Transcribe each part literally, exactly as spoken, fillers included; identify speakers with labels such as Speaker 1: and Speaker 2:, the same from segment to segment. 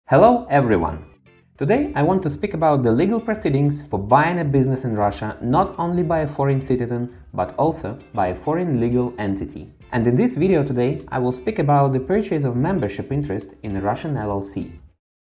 Speaker 1: Hello everyone! Today I want to speak about the legal proceedings for buying a business in Russia not only by a foreign citizen, but also by a foreign legal entity. And in this video today I will speak about the purchase of membership interest in a Russian L L C.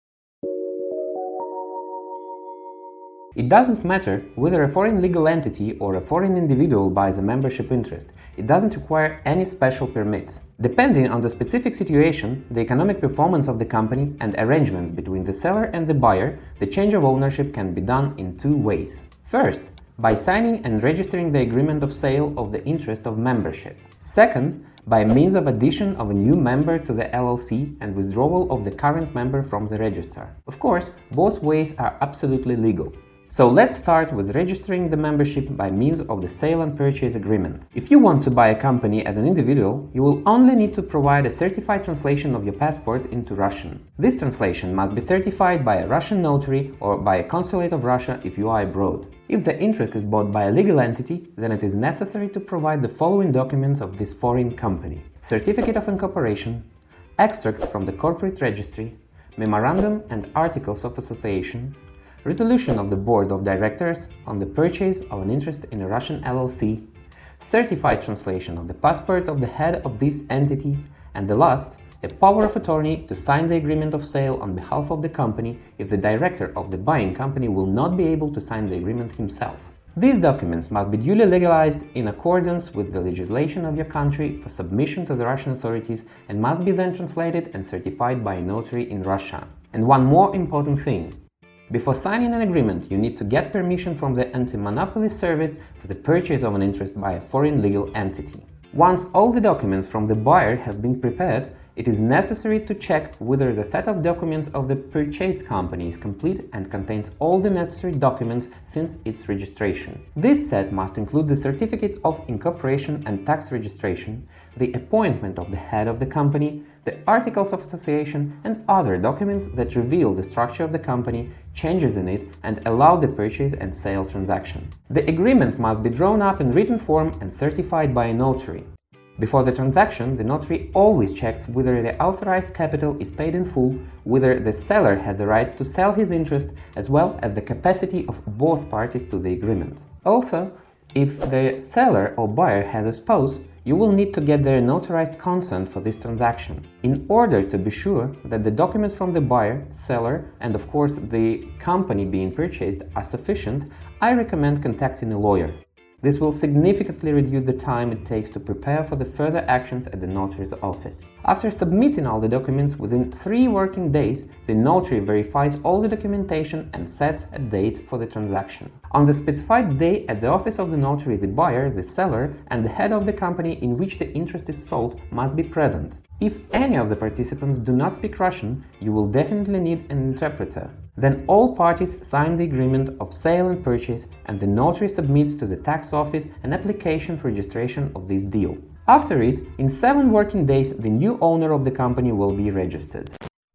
Speaker 1: It doesn't matter whether a foreign legal entity or a foreign individual buys a membership interest, it doesn't require any special permits. Depending on the specific situation, the economic performance of the company and arrangements between the seller and the buyer, the change of ownership can be done in two ways. First, by signing and registering the agreement of sale of the interest of membership. Second, by means of addition of a new member to the L L C and withdrawal of the current member from the register. Of course, both ways are absolutely legal. So let's start with registering the membership by means of the sale and purchase agreement. If you want to buy a company as an individual, you will only need to provide a certified translation of your passport into Russian. This translation must be certified by a Russian notary or by a consulate of Russia if you are abroad. If the interest is bought by a legal entity, then it is necessary to provide the following documents of this foreign company: Certificate of Incorporation, extract from the corporate registry, memorandum and articles of association, resolution of the board of directors on the purchase of an interest in a Russian L L C, certified translation of the passport of the head of this entity, and the last, a power of attorney to sign the agreement of sale on behalf of the company if the director of the buying company will not be able to sign the agreement himself. These documents must be duly legalized in accordance with the legislation of your country for submission to the Russian authorities and must be then translated and certified by a notary in Russia. And one more important thing. Before signing an agreement, you need to get permission from the Anti-Monopoly Service for the purchase of an interest by a foreign legal entity. Once all the documents from the buyer have been prepared, it is necessary to check whether the set of documents of the purchased company is complete and contains all the necessary documents since its registration. This set must include the certificate of incorporation and tax registration, the appointment of the head of the company, the articles of association and other documents that reveal the structure of the company, changes in it, and allow the purchase and sale transaction. The agreement must be drawn up in written form and certified by a notary. Before the transaction, the notary always checks whether the authorized capital is paid in full, whether the seller has the right to sell his interest, as well as the capacity of both parties to the agreement. Also, if the seller or buyer has a spouse, you will need to get their notarized consent for this transaction. In order to be sure that the documents from the buyer, seller, and of course the company being purchased are sufficient, I recommend contacting a lawyer. This will significantly reduce the time it takes to prepare for the further actions at the notary's office. After submitting all the documents within three working days, the notary verifies all the documentation and sets a date for the transaction. On the specified day at the office of the notary, the buyer, the seller, and the head of the company in which the interest is sold must be present. If any of the participants do not speak Russian, you will definitely need an interpreter. Then all parties sign the agreement of sale and purchase, and the notary submits to the tax office an application for registration of this deal. After it, in seven working days, the new owner of the company will be registered.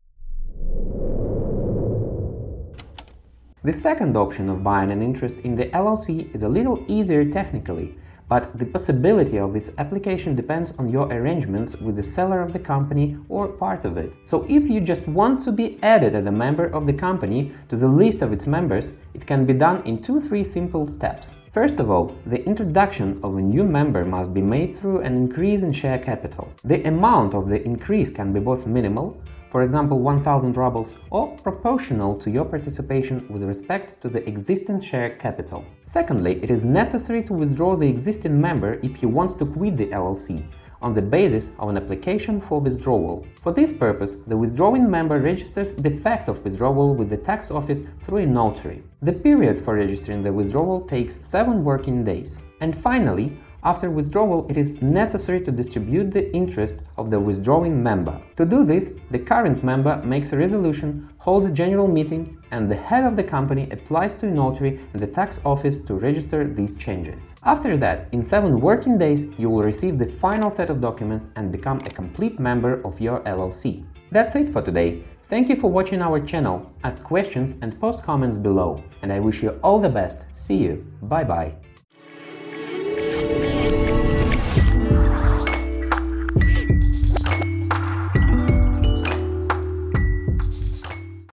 Speaker 1: The second option of buying an interest in the L L C is a little easier technically, but the possibility of its application depends on your arrangements with the seller of the company or part of it. So if you just want to be added as a member of the company to the list of its members, it can be done in two three simple steps. First of all, the introduction of a new member must be made through an increase in share capital. The amount of the increase can be both minimal, for example one thousand rubles, or proportional to your participation with respect to the existing share capital. Secondly, it is necessary to withdraw the existing member if he wants to quit the L L C, on the basis of an application for withdrawal. For this purpose, the withdrawing member registers the fact of withdrawal with the tax office through a notary. The period for registering the withdrawal takes seven working days. And finally, after withdrawal, it is necessary to distribute the interest of the withdrawing member. To do this, the current member makes a resolution, holds a general meeting, and the head of the company applies to a notary and the tax office to register these changes. After that, in seven working days, you will receive the final set of documents and become a complete member of your L L C. That's it for today. Thank you for watching our channel. Ask questions and post comments below. And I wish you all the best. See you. Bye bye.